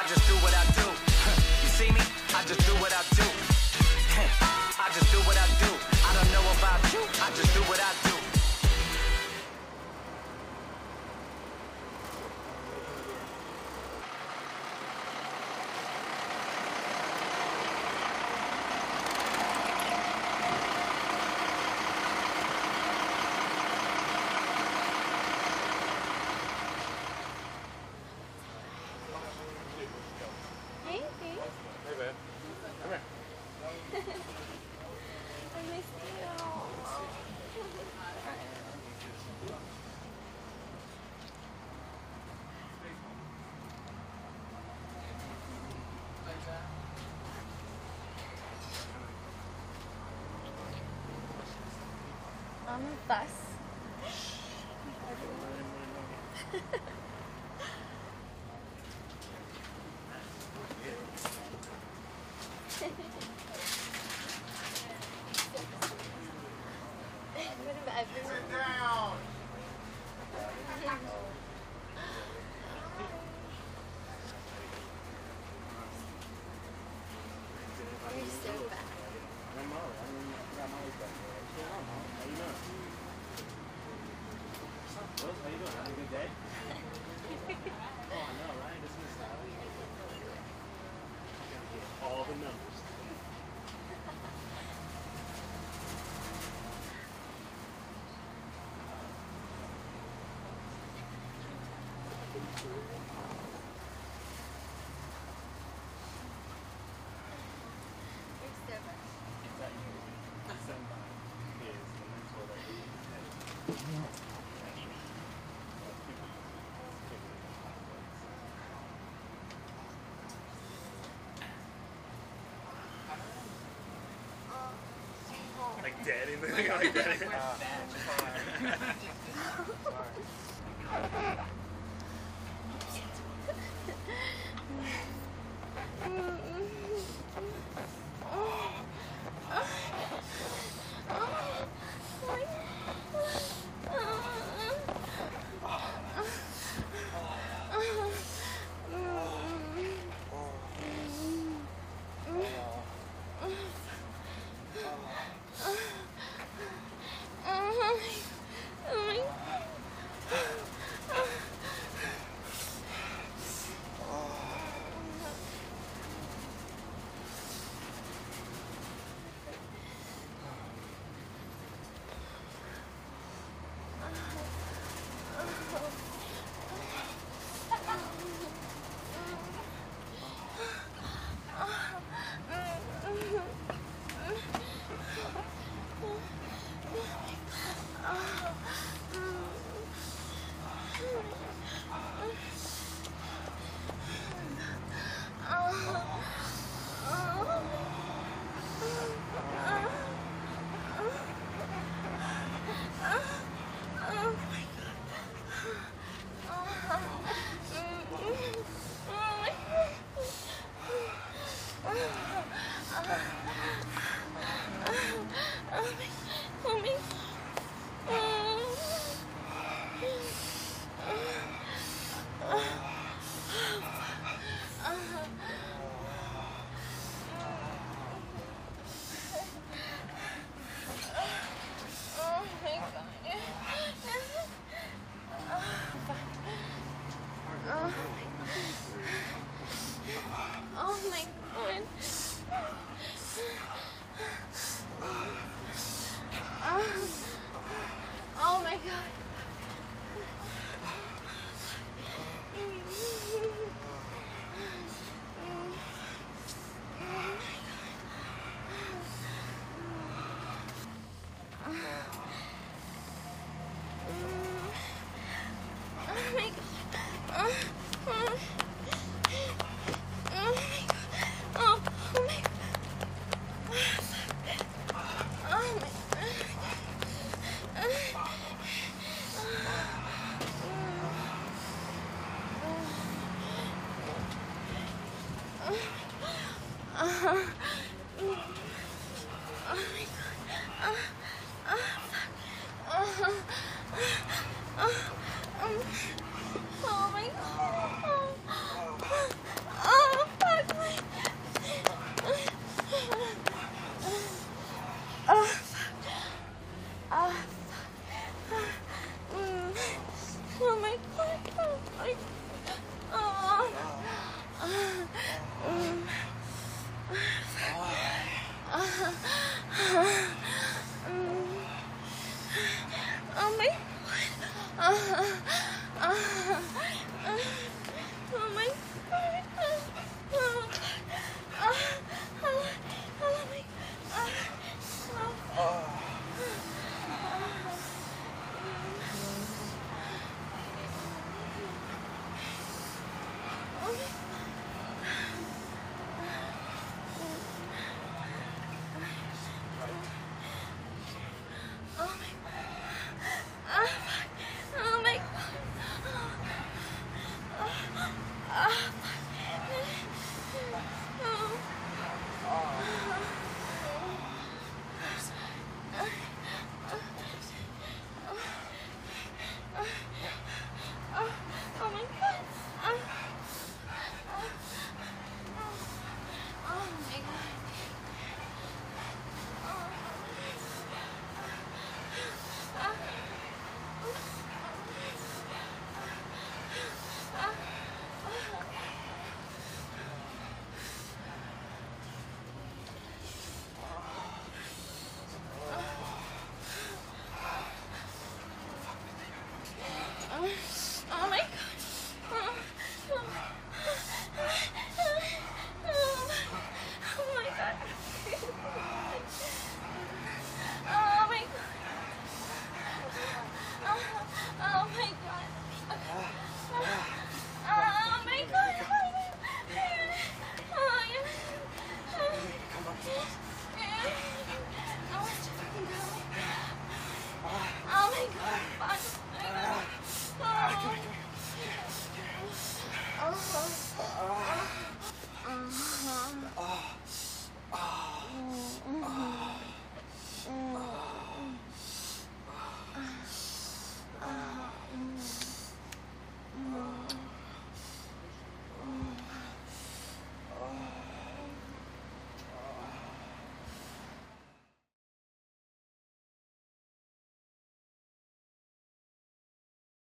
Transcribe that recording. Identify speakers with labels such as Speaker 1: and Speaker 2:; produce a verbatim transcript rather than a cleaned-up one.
Speaker 1: just do what I do. You see me? I just do what I do. I just do what I do. I don't know about you. I just do what I do.
Speaker 2: Hey, hey.
Speaker 3: Hey, babe. Come here.
Speaker 2: I missed you. On the bus.
Speaker 3: Sit down.
Speaker 2: You're so bad.
Speaker 3: I'm Molly. I got Molly's back there. What's going on, Molly? How you doing? What's up, Rose? How you doing? Having a good day? Oh, I know, right? Isn't this stylish? Gotta get all the numbers.
Speaker 2: You're so bad.
Speaker 3: Somebody is the mentor that we had. Like dead in the like dead.